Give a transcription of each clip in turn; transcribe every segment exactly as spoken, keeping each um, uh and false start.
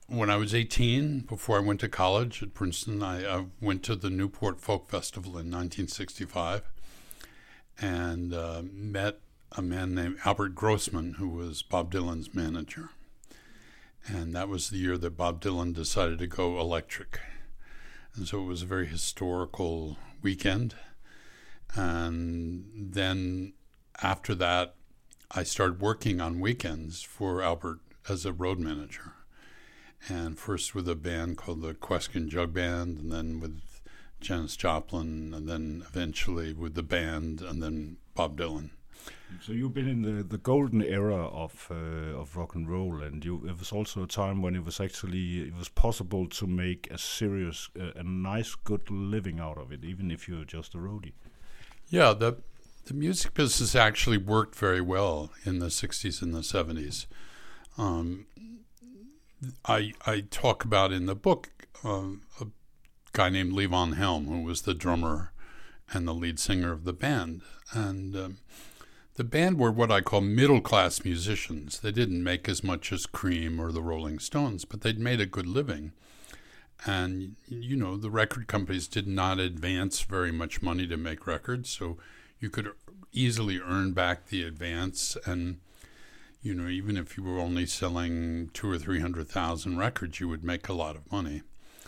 when I was eighteen, before I went to college at Princeton, I, I went to the Newport Folk Festival in nineteen sixty-five and uh, met a man named Albert Grossman, who was Bob Dylan's manager. And that was the year that Bob Dylan decided to go electric. And so it was a very historical weekend. And then after that, I started working on weekends for Albert as a road manager. And first with a band called the Queskin Jug Band, and then with Janis Joplin, and then eventually with the band, and then Bob Dylan. So you've been in the, the golden era of uh, of rock and roll, and you, it was also a time when it was actually it was possible to make a serious, uh, a nice, good living out of it, even if you're just a roadie. Yeah, the the music business actually worked very well in the sixties and the seventies. Um, I I talk about in the book um, a guy named Levon Helm, who was the drummer and the lead singer of the band, and um, the band were what I call middle-class musicians. They didn't make as much as Cream or the Rolling Stones, but they'd made a good living. And, you know, the record companies did not advance very much money to make records, so you could easily earn back the advance. And, you know, even if you were only selling two or three hundred thousand records, you would make a lot of money.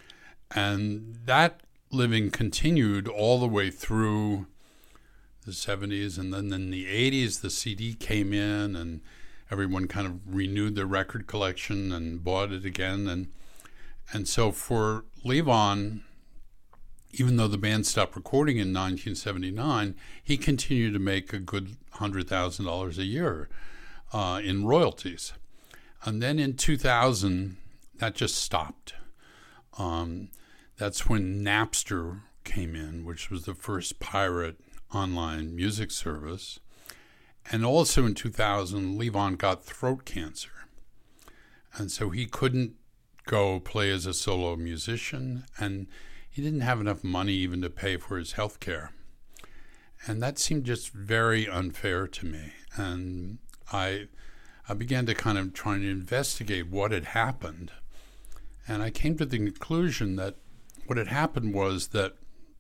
And that living continued all the way through the seventies, and then in the eighties, the C D came in, and everyone kind of renewed their record collection and bought it again. And and so for Levon, even though the band stopped recording in nineteen seventy-nine, he continued to make a good one hundred thousand dollars a year uh, in royalties. And then in two thousand, that just stopped. Um, that's when Napster came in, which was the first pirate online music service. And also in two thousand, Levon got throat cancer. And so he couldn't go play as a solo musician, and he didn't have enough money even to pay for his health care. And that seemed just very unfair to me. And I I began to kind of try and investigate what had happened. And I came to the conclusion that what had happened was that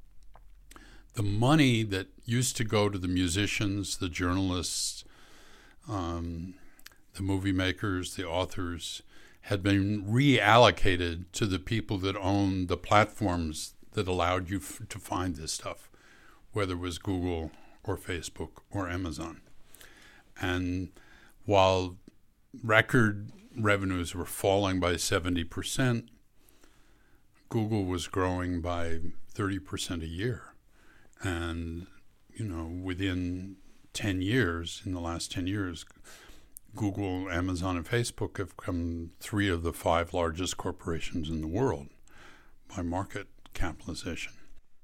the money that used to go to the musicians, the journalists, um, the movie makers, the authors, had been reallocated to the people that owned the platforms that allowed you f- to find this stuff, whether it was Google or Facebook or Amazon. And while record revenues were falling by seventy percent, Google was growing by thirty percent a year. And, you know, within ten years, in the last ten years, Google, Amazon, and Facebook have become three of the five largest corporations in the world by market capitalization.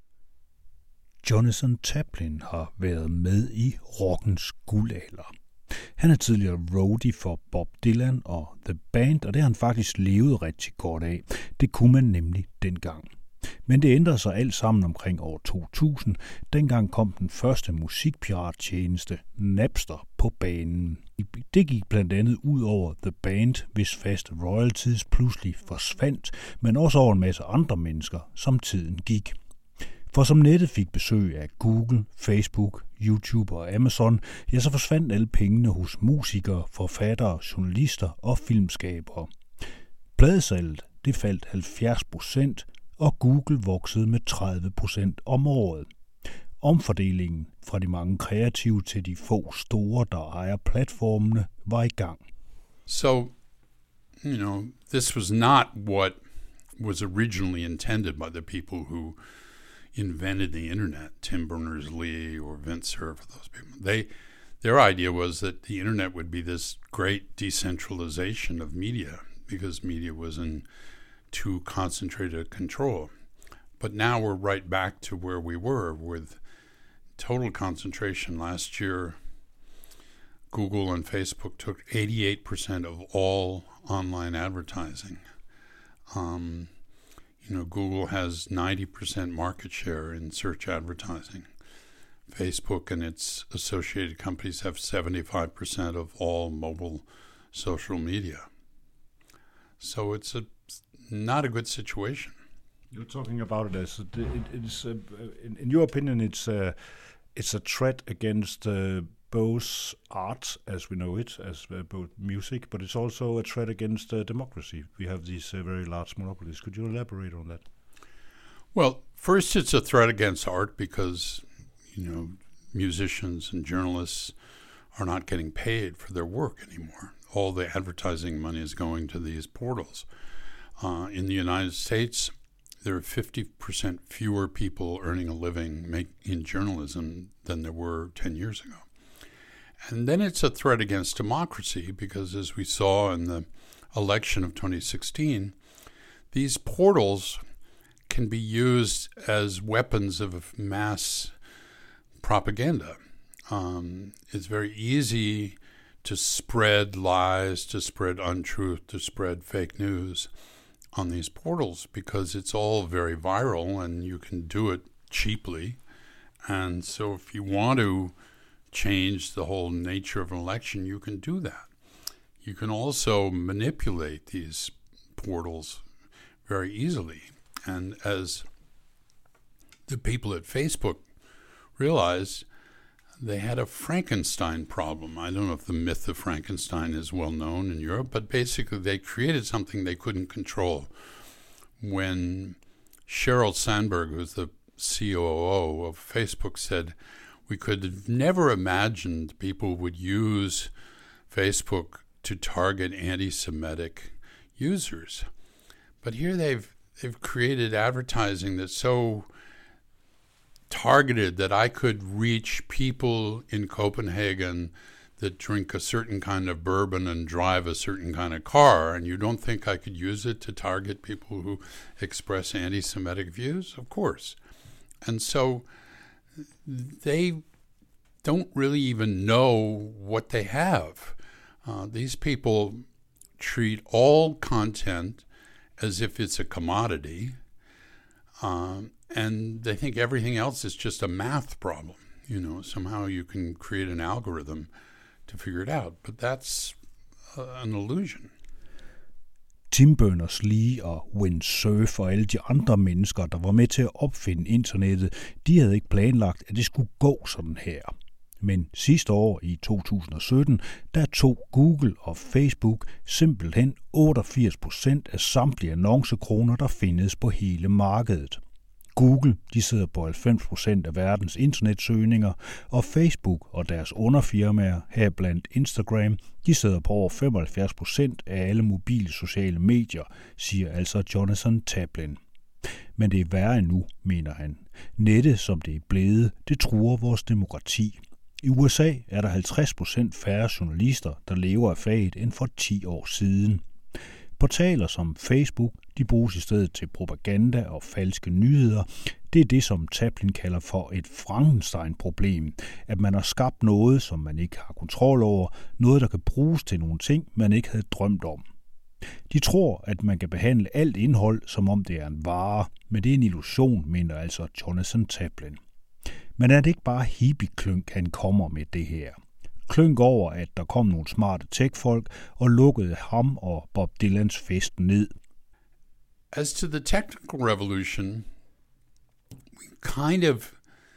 Jonathan Taplin har været med i rockens guldalder. Han er tidligere roadie for Bob Dylan og The Band, og det har han faktisk levet rigtig godt af. Det kunne man nemlig dengang. Men det ændrede sig alt sammen omkring år to tusind. Dengang kom den første musikpirattjeneste, Napster, på banen. Det gik blandt andet ud over The Band, hvis faste royalties pludselig forsvandt, men også over en masse andre mennesker, som tiden gik. For som nettet fik besøg af Google, Facebook, YouTube og Amazon, ja, så forsvandt alle pengene hos musikere, forfattere, journalister og filmskabere. Pladesalget, det faldt halvfjerds procent, og Google voksede med tredive procent om året. Omfordelingen fra de mange kreative til de få store, der ejer platformene, var i gang. So, you know, this was not what was originally intended by the people who invented the internet, Tim Berners-Lee or Vint Cerf, those people. They, their idea was that the internet would be this great decentralization of media because media was in too concentrated control. But now we're right back to where we were with total concentration. Last year, Google and Facebook took eighty-eight percent of all online advertising. Um, you know, Google has ninety percent market share in search advertising. Facebook and its associated companies have seventy-five percent of all mobile social media. So it's a not a good situation. You're talking about it as it, it is, uh, in, in your opinion, it's uh, it's a threat against uh, both art as we know it, as uh, both music, but it's also a threat against uh, democracy. We have these uh, very large monopolies. Could you elaborate on that? Well, first, it's a threat against art because, you know, musicians and journalists are not getting paid for their work anymore. All the advertising money is going to these portals. Uh, in the United States, there are fifty percent fewer people earning a living make, in journalism than there were ten years ago. And then it's a threat against democracy because, as we saw in the election of twenty sixteen, these portals can be used as weapons of mass propaganda. Um, it's very easy to spread lies, to spread untruth, to spread fake news on these portals because it's all very viral and you can do it cheaply. And so if you want to change the whole nature of an election, you can do that. You can also manipulate these portals very easily. And as the people at Facebook realized, they had a Frankenstein problem. I don't know if the myth of Frankenstein is well known in Europe, but basically they created something they couldn't control. When Sheryl Sandberg, who's the C O O of Facebook, said, we could have never imagined people would use Facebook to target anti-Semitic users. But here they've they've created advertising that's so targeted that I could reach people in Copenhagen that drink a certain kind of bourbon and drive a certain kind of car, and you don't think I could use it to target people who express anti-Semitic views? Of course. And so they don't really even know what they have. Uh, these people treat all content as if it's a commodity, um, and they think everything else is just a math problem. You know, somehow you can create an algorithm to figure it out, but that's uh, an illusion. Tim Berners-Lee og Windsurf og alle de andre mennesker, der var med til at opfinde internettet, de havde ikke planlagt, at det skulle gå sådan her. Men sidste år i to tusind og sytten, der tog Google og Facebook simpelthen otteogfirs procent af samtlige annoncekroner, der findes på hele markedet. Google, de sidder på halvfems procent af verdens internetsøgninger, og Facebook og deres underfirmaer, heriblandt Instagram, de sidder på over femoghalvfjerds procent af alle mobile sociale medier, siger altså Jonathan Taplin. Men det er værre endnu, mener han. Nettet, som det er blevet, det truer vores demokrati. I U S A er der halvtreds procent færre journalister, der lever af faget end for ti år siden. Portaler som Facebook, de bruges i stedet til propaganda og falske nyheder. Det er det, som Taplin kalder for et Frankenstein-problem, at man har skabt noget, som man ikke har kontrol over, noget, der kan bruges til nogle ting, man ikke havde drømt om. De tror, at man kan behandle alt indhold, som om det er en vare, men det er en illusion, mener altså Jonathan Taplin. Men er det ikke bare hippie-klynk, han kommer med det her? Klynk over, at der kom nogle smarte tech-folk og lukkede ham og Bob Dylans fest ned. As to the technical revolution, we kind of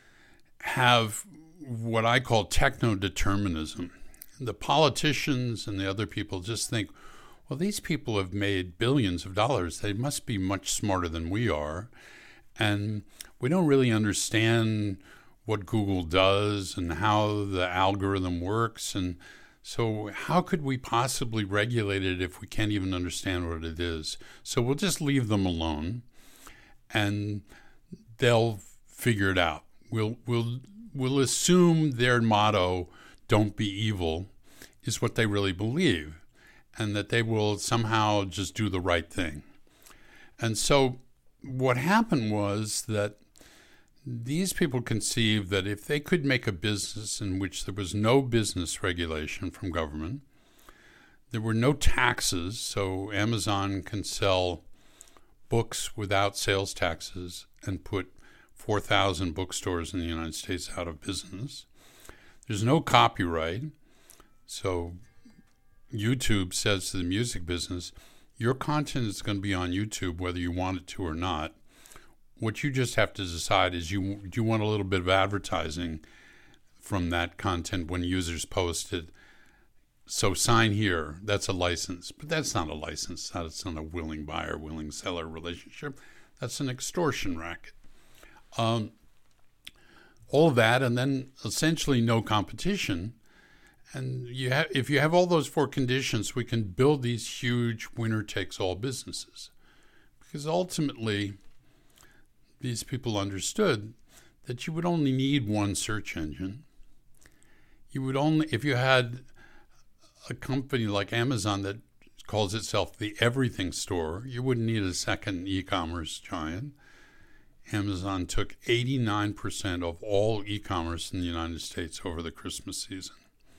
have what I call techno-determinism. The politicians and the other people just think, well, these people have made billions of dollars. They must be much smarter than we are. And we don't really understand what Google does and how the algorithm works. And so how could we possibly regulate it if we can't even understand what it is? So we'll just leave them alone and they'll figure it out. We'll, we'll, we'll assume their motto, don't be evil, is what they really believe, and that they will somehow just do the right thing. And so what happened was that these people conceived that if they could make a business in which there was no business regulation from government, there were no taxes, so Amazon can sell books without sales taxes and put four thousand bookstores in the United States out of business. There's no copyright, so YouTube says to the music business, Your content is going to be on YouTube whether you want it to or not. What you just have to decide is you do you want a little bit of advertising from that content when users post it. So sign here, that's a license. But that's not a license. That's not a willing buyer, willing seller relationship. That's an extortion racket. Um, all of that, and then essentially no competition. And you have, if you have all those four conditions, we can build these huge winner-takes-all businesses. Because ultimately, these people understood that you would only need one search engine. You would only, if you had a company like Amazon that calls itself the everything store, you wouldn't need a second e-commerce giant. Amazon took eighty-nine percent of all e-commerce in the United States over the Christmas season.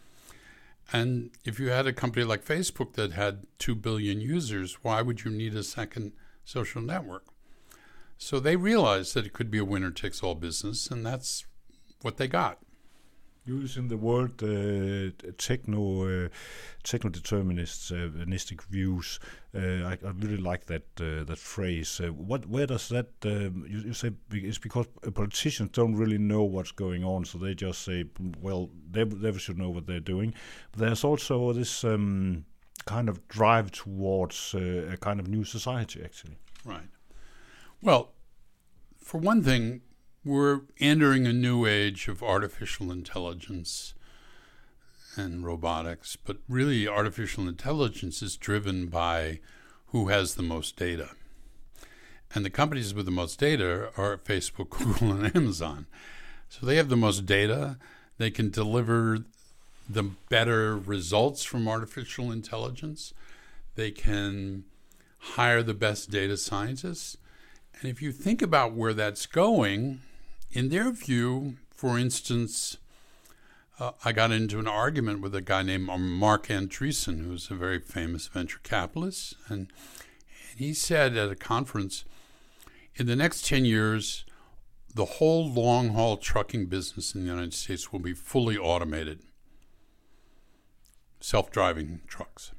And if you had a company like Facebook that had two billion users, why would you need a second social network? So they realized that it could be a winner-takes-all business, and that's what they got. Using the word uh, techno, uh, techno-deterministic views, uh, I, I really like that uh, that phrase. Uh, what, where does that? Um, you, you say it's because politicians don't really know what's going on, so they just say, well, they they should know what they're doing. But there's also this um, kind of drive towards uh, a kind of new society, actually. Right. Well, for one thing, we're entering a new age of artificial intelligence and robotics, but really artificial intelligence is driven by who has the most data. And the companies with the most data are Facebook, Google, and Amazon. So they have the most data. They can deliver the better results from artificial intelligence. They can hire the best data scientists. And if you think about where that's going, in their view, for instance, uh, I got into an argument with a guy named Mark Andreessen, who's a very famous venture capitalist. And, and he said at a conference, in the next ten years, the whole long-haul trucking business in the United States will be fully automated, self-driving trucks.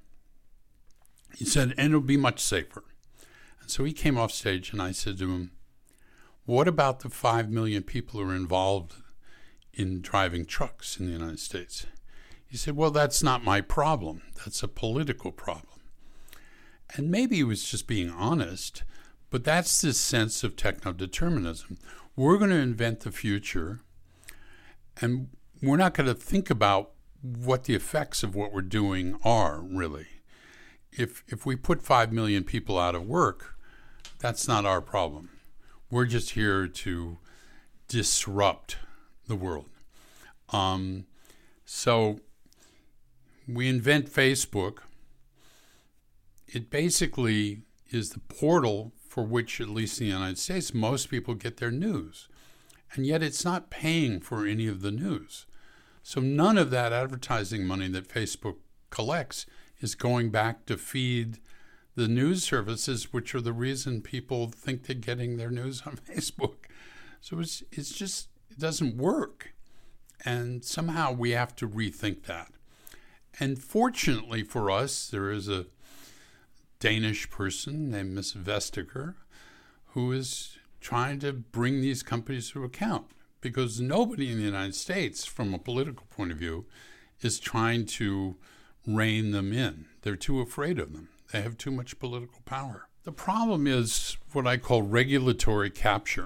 He said, and it'll be much safer. And so he came off stage and I said to him, what about the five million people who are involved in driving trucks in the United States? He said, well, that's not my problem. That's a political problem. And maybe he was just being honest, but that's this sense of techno-determinism. We're going to invent the future, and we're not going to think about what the effects of what we're doing are, really. If if we put five million people out of work, that's not our problem. We're just here to disrupt the world. Um, so we invent Facebook. It basically is the portal for which, at least in the United States, most people get their news. And yet it's not paying for any of the news. So none of that advertising money that Facebook collects is going back to feed the news services, which are the reason people think they're getting their news on Facebook. So it's it's just, it doesn't work. And somehow we have to rethink that. And fortunately for us, there is a Danish person named Miss Vestager who is trying to bring these companies to account, because nobody in the United States, from a political point of view, is trying to rein them in. They're too afraid of them. They have too much political power. The problem is what I call regulatory capture.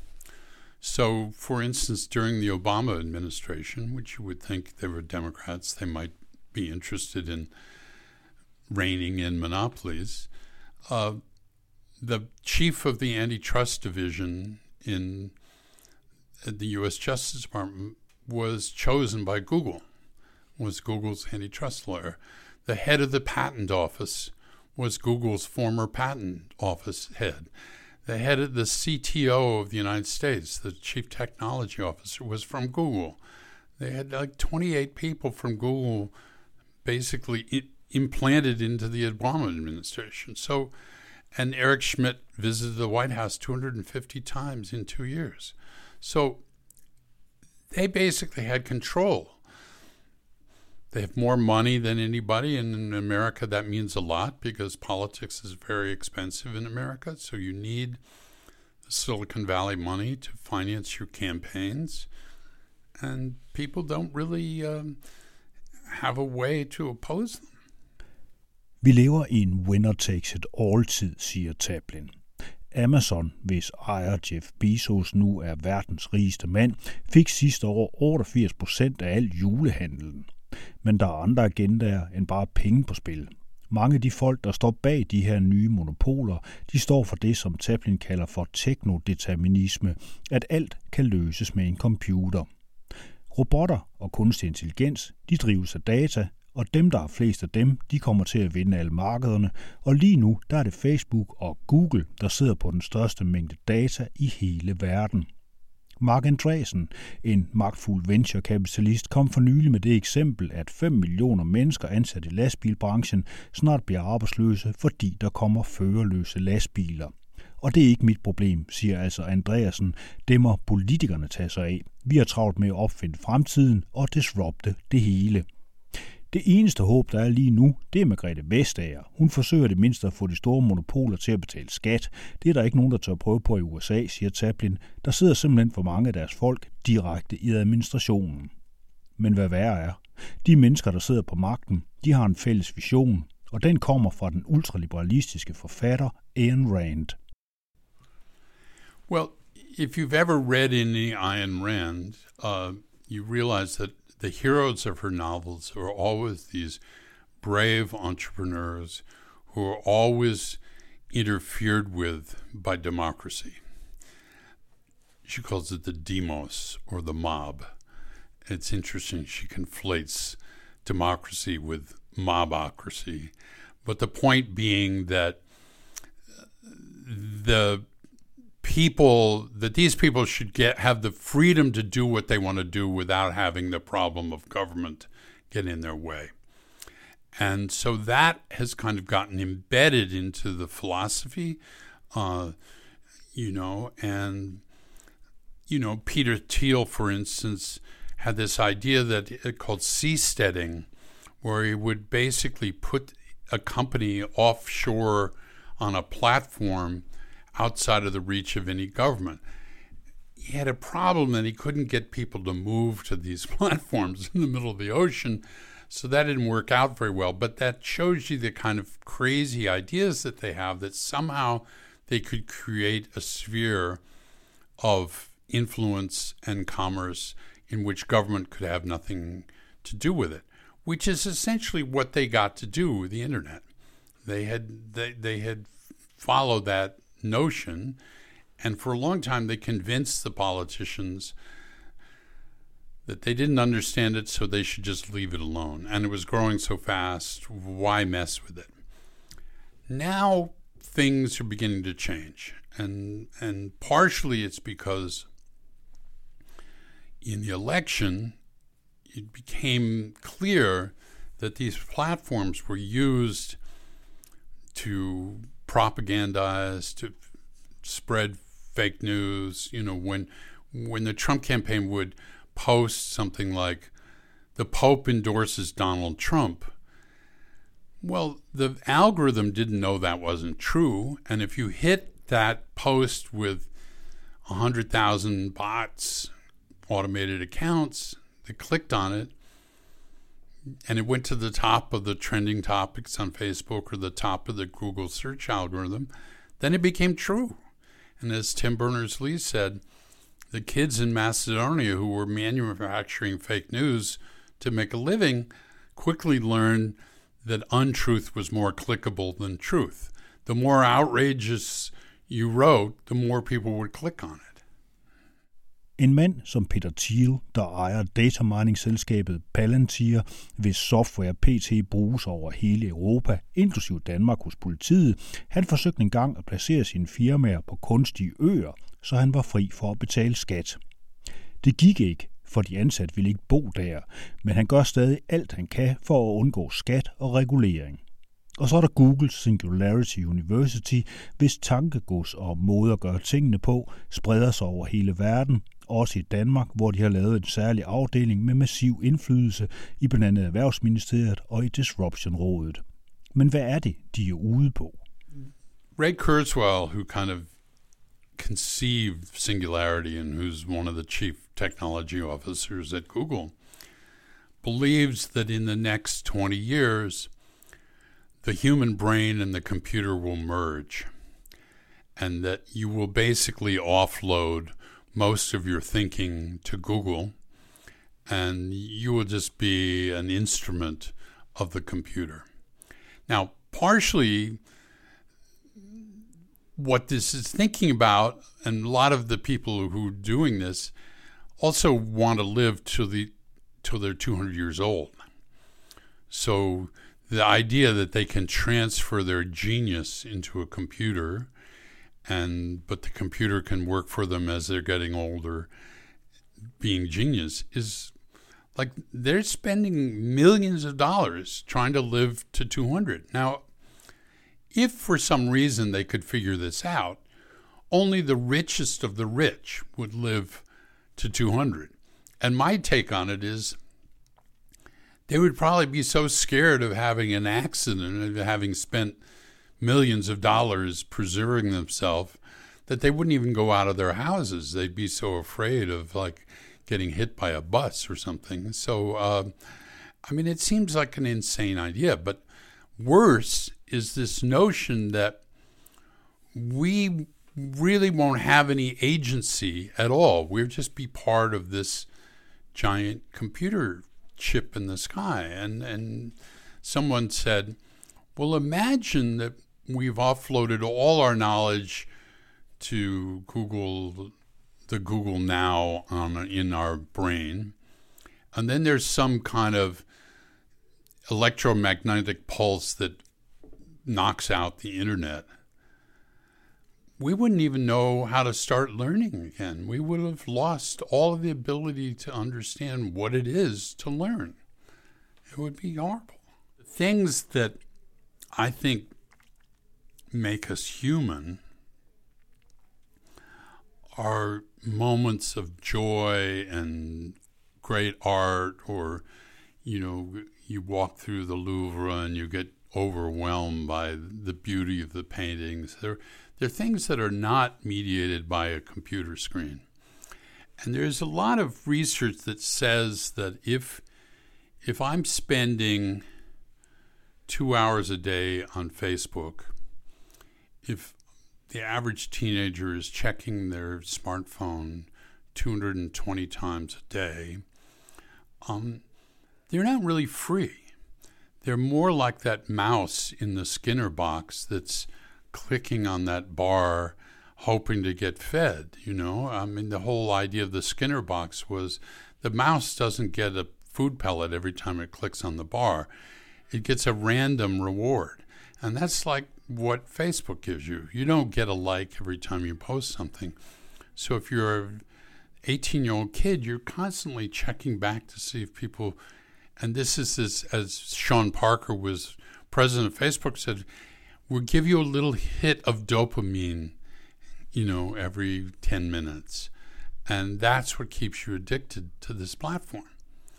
So, for instance, during the Obama administration, which you would think they were Democrats, they might be interested in reining in monopolies, uh, the chief of the antitrust division in the U S Justice Department was chosen by Google, was Google's antitrust lawyer. The head of the patent office was Google's former patent office head. The head of the C T O of the United States, the chief technology officer, was from Google. They had like twenty-eight people from Google basically I- implanted into the Obama administration. So, and Eric Schmidt visited the White House two hundred fifty times in two years. So they basically had control. They have more money than anybody, and in America that means a lot because politics is very expensive in America. So you need the Silicon Valley money to finance your campaigns, and people don't really um, have a way to oppose them. Vi lever i en winner-takes-it-all-tid, siger Taplin. Amazon, hvis ejer Jeff Bezos nu er verdens rigeste mand, fik sidste år otteogfirs procent af al julehandlen. Men der er andre agendaer end bare penge på spil. Mange af de folk, der står bag de her nye monopoler, de står for det, som Taplin kalder for teknodeterminisme, at alt kan løses med en computer. Robotter og kunstig intelligens, de drives af data, og dem, der er flest af dem, de kommer til at vinde alle markederne, og lige nu, der er det Facebook og Google, der sidder på den største mængde data i hele verden. Mark Andreessen, en magtfuld venturekapitalist, kom for nylig med det eksempel, at fem millioner mennesker ansat i lastbilbranchen snart bliver arbejdsløse, fordi der kommer førerløse lastbiler. Og det er ikke mit problem, siger altså Andreessen. Det må politikerne tage sig af. Vi har travlt med at opfinde fremtiden og disrupte det hele. Det eneste håb, der er lige nu, det er Margrethe Vestager. Hun forsøger det mindste at få de store monopoler til at betale skat. Det er der ikke nogen, der tør prøve på i U S A, siger Taplin. Der sidder simpelthen for mange af deres folk direkte i administrationen. Men hvad værre er, de mennesker, der sidder på magten, de har en fælles vision, og den kommer fra den ultraliberalistiske forfatter Ayn Rand. Well, if you've ever read any Ayn Rand, uh, you realize that the heroes of her novels are always these brave entrepreneurs who are always interfered with by democracy. She calls it the demos, or the mob. It's interesting, she conflates democracy with mobocracy. But the point being that the people, that these people should get have the freedom to do what they want to do without having the problem of government get in their way. And so that has kind of gotten embedded into the philosophy, uh, you know, and, you know, Peter Thiel, for instance, had this idea that it called seasteading, where he would basically put a company offshore on a platform outside of the reach of any government. He had a problem that he couldn't get people to move to these platforms in the middle of the ocean, so that didn't work out very well. But that shows you the kind of crazy ideas that they have, that somehow they could create a sphere of influence and commerce in which government could have nothing to do with it, which is essentially what they got to do with the internet. They had they, they had followed that notion, and for a long time they convinced the politicians that they didn't understand it, so they should just leave it alone. And it was growing so fast, why mess with it? Now things are beginning to change, and and partially it's because in the election it became clear that these platforms were used to propagandize, to spread fake news. You know, when when the Trump campaign would post something like, the Pope endorses Donald Trump, well, the algorithm didn't know that wasn't true, and if you hit that post with one hundred thousand bots, automated accounts, that clicked on it, and it went to the top of the trending topics on Facebook or the top of the Google search algorithm, then it became true. And as Tim Berners-Lee said, the kids in Macedonia who were manufacturing fake news to make a living quickly learned that untruth was more clickable than truth. The more outrageous you wrote, the more people would click on it. En mand som Peter Thiel, der ejer datamining-selskabet Palantir, hvis software P T bruges over hele Europa, inklusive Danmark hos politiet, han forsøgte engang at placere sine firmaer på kunstige øer, så han var fri for at betale skat. Det gik ikke, for de ansatte ville ikke bo der, men han gør stadig alt han kan for at undgå skat og regulering. Og så er der Google Singularity University, hvis tankegods og måde at gøre tingene på spreder sig over hele verden, også i Danmark, hvor de har lavet en særlig afdeling med massiv indflydelse i blandt andet Erhvervsministeriet og i Disruption-rådet. Men hvad er det, de er ude på? Ray Kurzweil, who kind of conceived Singularity and who's one of the chief technology officers at Google, believes that in the next twenty years, the human brain and the computer will merge, and that you will basically offload most of your thinking to Google, and you will just be an instrument of the computer. Now, partially, what this is thinking about, and a lot of the people who are doing this also want to live till the till they're two hundred years old. So the idea that they can transfer their genius into a computer, and but the computer can work for them as they're getting older, being genius, is like they're spending millions of dollars trying to live to two hundred. Now, if for some reason they could figure this out, only the richest of the rich would live to two hundred. And my take on it is they would probably be so scared of having an accident and having spent millions of dollars preserving themselves that they wouldn't even go out of their houses. They'd be so afraid of like getting hit by a bus or something. So, uh, I mean, it seems like an insane idea, but worse is this notion that we really won't have any agency at all. We'll just be part of this giant computer chip in the sky. And and someone said, well, imagine that we've offloaded all our knowledge to Google, the Google Now on, in our brain, and then there's some kind of electromagnetic pulse that knocks out the internet. We wouldn't even know how to start learning again. We would have lost all of the ability to understand what it is to learn. It would be horrible. The things that I think make us human are moments of joy and great art, or, you know, you walk through the Louvre and you get overwhelmed by the beauty of the paintings. They're, they're things that are not mediated by a computer screen. And there's a lot of research that says that if if I'm spending two hours a day on Facebook, if the average teenager is checking their smartphone two hundred twenty times a day, um, they're not really free. They're more like that mouse in the Skinner box that's clicking on that bar hoping to get fed, you know? I mean, the whole idea of the Skinner box was the mouse doesn't get a food pellet every time it clicks on the bar. It gets a random reward. And that's like what Facebook gives you. You don't get a like every time you post something. So if you're an eighteen-year-old kid, you're constantly checking back to see if people... And this is, this, as Sean Parker was president of Facebook, said, we'll give you a little hit of dopamine, you know, every ten minutes. And that's what keeps you addicted to this platform.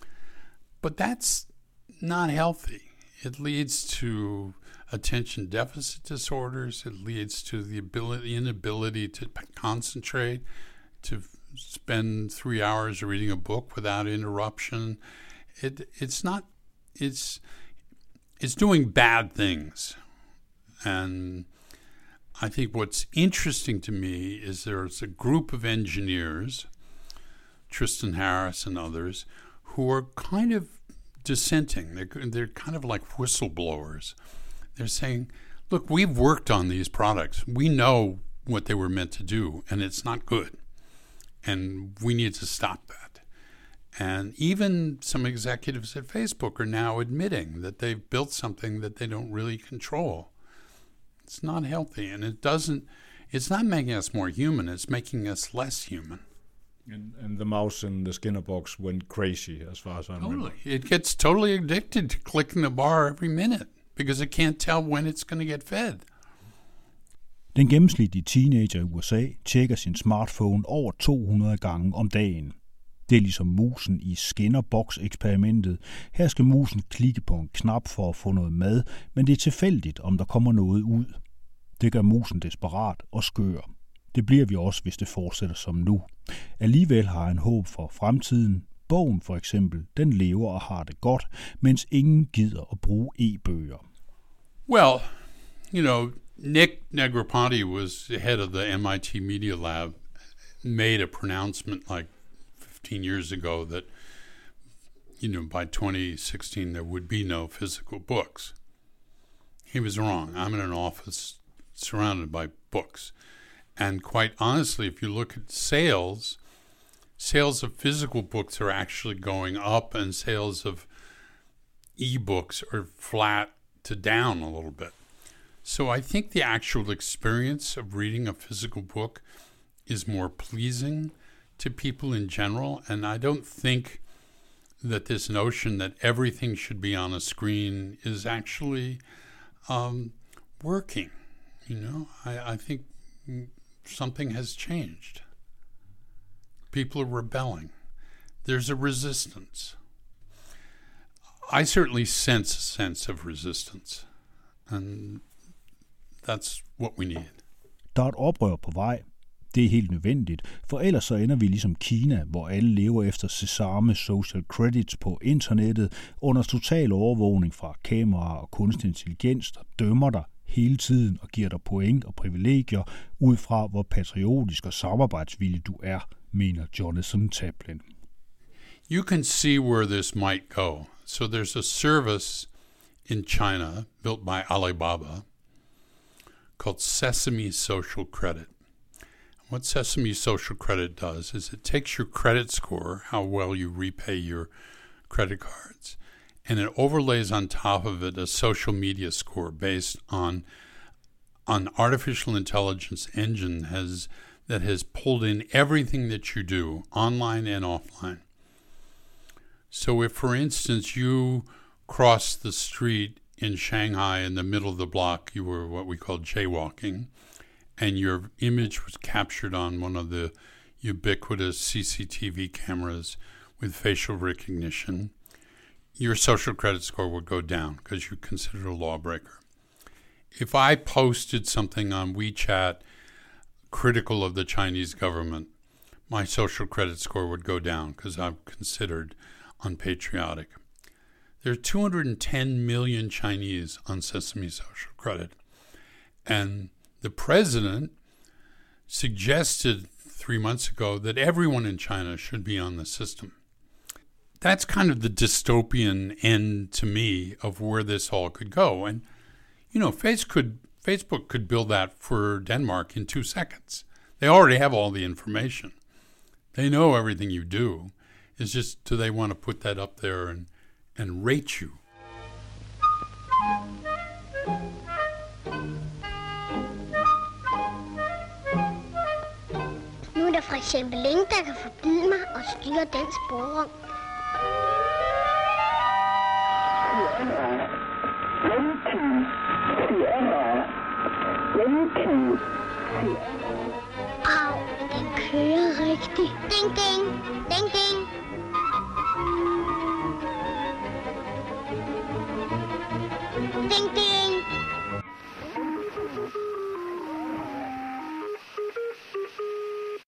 But that's not healthy. It leads to attention deficit disorders. It leads to the ability, inability to concentrate, to spend three hours reading a book without interruption. It it's not it's it's doing bad things. And I think what's interesting to me is there's a group of engineers, Tristan Harris and others, who are kind of dissenting. They're, they're kind of like whistleblowers. They're saying, look, we've worked on these products. We know what they were meant to do, and it's not good. And we need to stop that. And even some executives at Facebook are now admitting that they've built something that they don't really control. It's not healthy, and it doesn't, it's not making us more human, it's making us less human. And, and the mouse in the Skinner box went crazy, as far as I remember. Totally. It gets totally addicted to clicking the bar every minute because it can't tell when it's going to get fed. Den gennemsnitlige teenager i U S A tjekker sin smartphone over to hundrede gange om dagen. Det er ligesom musen i Skinner-boks-eksperimentet. Her skal musen klikke på en knap for at få noget mad, men det er tilfældigt, om der kommer noget ud. Det gør musen desperat og skør. Det bliver vi også, hvis det fortsætter som nu. Alligevel har han håb for fremtiden. Bogen for eksempel, den lever og har det godt, mens ingen gider at bruge e-bøger. Well, you know, Nick Negroponte was the head of the M I T Media Lab, made a pronouncement like fifteen years ago that, you know, by twenty sixteen there would be no physical books. He was wrong. I'm in an office surrounded by books. And quite honestly, if you look at sales, sales of physical books are actually going up and sales of e-books are flat to down a little bit. So I think the actual experience of reading a physical book is more pleasing to people in general, and I don't think that this notion that everything should be on a screen is actually um, working. You know, I, I think something has changed. People are rebelling. There's a resistance. I certainly sense a sense of resistance, and that's what we need. Der er et oprør på vej. Det er helt nødvendigt, for ellers så ender vi ligesom Kina, hvor alle lever efter sesame social credits på internettet under total overvågning fra kameraer og kunstig intelligens, der dømmer dig hele tiden og giver dig point og privilegier ud fra, hvor patriotisk og samarbejdsvillig du er, mener Jonathan Taplin. You can see where this might go. So there's a service in China built by Alibaba called Sesame Social Credit. What Sesame Social Credit does is it takes your credit score, how well you repay your credit cards, and it overlays on top of it a social media score based on an artificial intelligence engine has that has pulled in everything that you do, online and offline. So if, for instance, you crossed the street in Shanghai in the middle of the block, you were what we call jaywalking, and your image was captured on one of the ubiquitous C C T V cameras with facial recognition, your social credit score would go down because you're considered a lawbreaker. If I posted something on WeChat critical of the Chinese government, my social credit score would go down because I'm considered unpatriotic. There are two hundred ten million Chinese on Sesame Social Credit, and the president suggested three months ago that everyone in China should be on the system. That's kind of the dystopian end to me of where this all could go. And, you know, Face could, Facebook could build that for Denmark in two seconds. They already have all the information. They know everything you do. It's just, do they want to put that up there and, and rate you? Nu er der for eksempel ingen, der kan forbyde mig at styre den sporvogn. Au, den kører rigtigt. Ding, ding, ding, ding. Ding, ding.